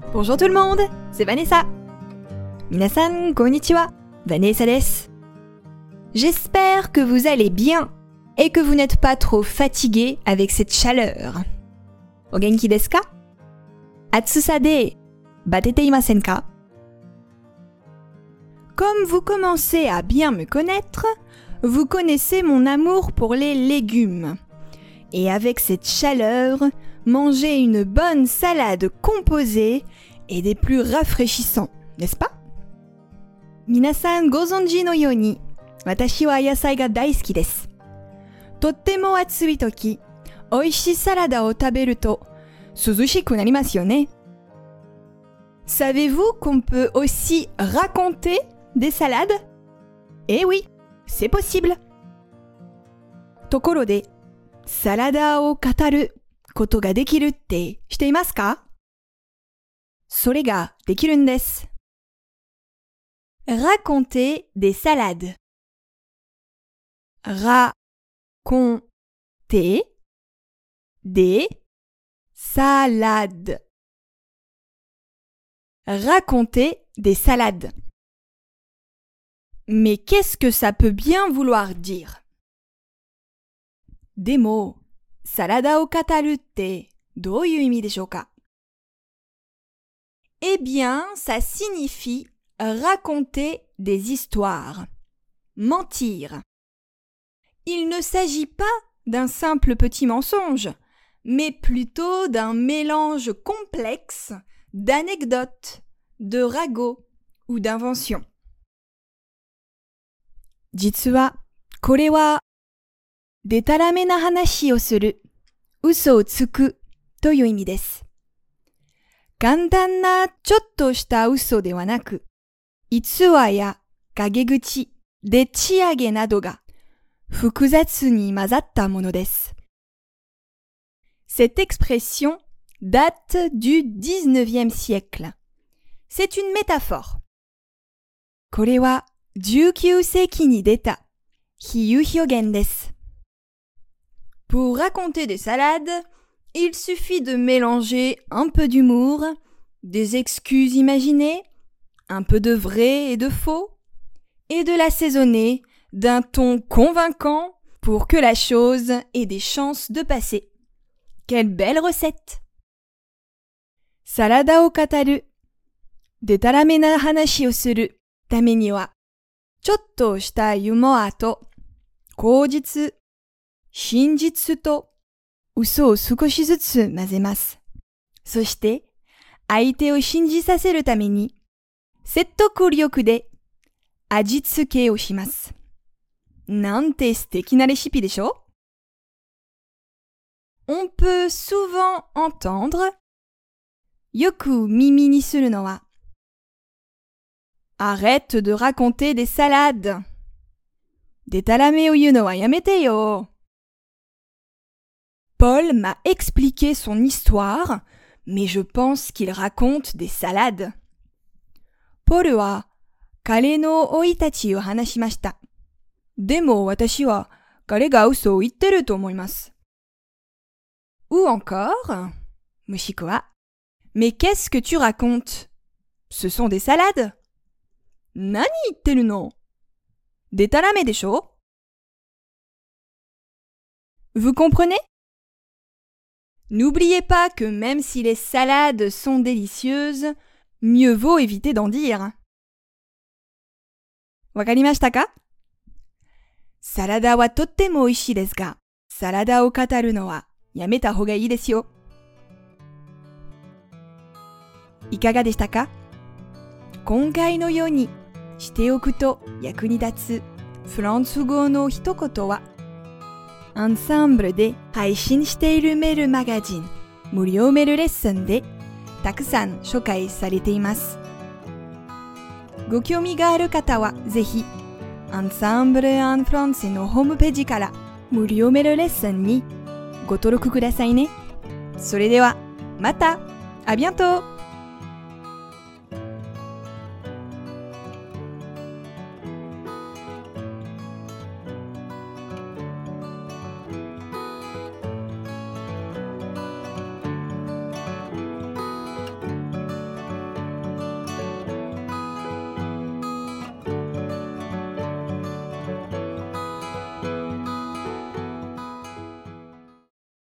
Bonjour tout le monde, c'est Vanessa. Minasan, konnichiwa, Vanessa desu. J'espère que vous allez bien et que vous n'êtes pas trop fatigués avec cette chaleur. O genki desu ka? Atsusa de batete imasen ka? Comme vous commencez à bien me connaître, vous connaissez mon amour pour les légumes. Et avec cette chaleur, manger une bonne salade composée est des plus rafraîchissants, n'est-ce pas? Minasan gozonji no you ni, watashi wa yasai ga daisuki desu. Tottemo atsui toki, oishii salada o taberu to suzushiku narimasu yo ne. Savez-vous qu'on peut aussi raconter des salades? Eh oui, c'est possible. Tokoro de, salada o kataru koto ga dekiru tte shite imasu ka? Sore ga dekiru n desu. Raconter des salades. Raconter des salades. Raconter des salades. Mais qu'est-ce que ça peut bien vouloir dire? Demo, salada o kataru tte douyu imi deshou ka? Eh bien, ça signifie raconter des histoires. Mentir. Il ne s'agit pas d'un simple petit mensonge, mais plutôt d'un mélange complexe d'anecdotes, de ragots ou d'inventions. Jitsu wa, kore wa, detarame na hanashi o suru, uso o tsuku to you imi desu. Kantan na chotto shita uso de wa naku, itsuwa ya kageguchi, dechiage nado ga fukuzatsu ni mazatta mono desu. Cette expression date du 19e siècle. C'est une métaphore. Kore wa 19世紀に出た比喩表現です. Pour raconter des salades, il suffit de mélanger un peu d'humour, des excuses imaginées, un peu de vrai et de faux, et de l'assaisonner d'un ton convaincant pour que la chose ait des chances de passer. Quelle belle recette! Salada o kataru, detarame na hanashi o suru tame ni wa, chotto shita yumoa to, koujitsu, shinjitsu to, uso o sukoshi zutsu mazemasu. そして、相手を信じさせるために、説得力で味付けをします。なんて素敵なレシピでしょ? On peut souvent entendre よく耳にするのは Arrête de raconter des salades. でたらめを言うのはやめてよ. Paul m'a expliqué son histoire, mais je pense qu'il raconte des salades. Paul は彼の生い立ちを話しました。でも私は彼が嘘を言ってると思います。Ou encore, もしくは Mais qu'est-ce que tu racontes? Ce sont des salades? 何言ってるの? でたらめでしょ? Vous comprenez? N'oubliez pas que même si les salades sont délicieuses, mieux vaut éviter d'en dire. わかりましたか? サラダはとっても美味しいですが、サラダを語るのはやめた方がいいですよ。いかがでしたか? 今回のようにしておくと役に立つフランス語の一言は、アンサンブルで配信しているメールマガジン、無料メールレッスンでたくさん紹介されています。ご興味がある方はぜひ、アンサンブル・アン・フランセのホームページから無料メールレッスンにご登録くださいね。それでは、また、à bientôt!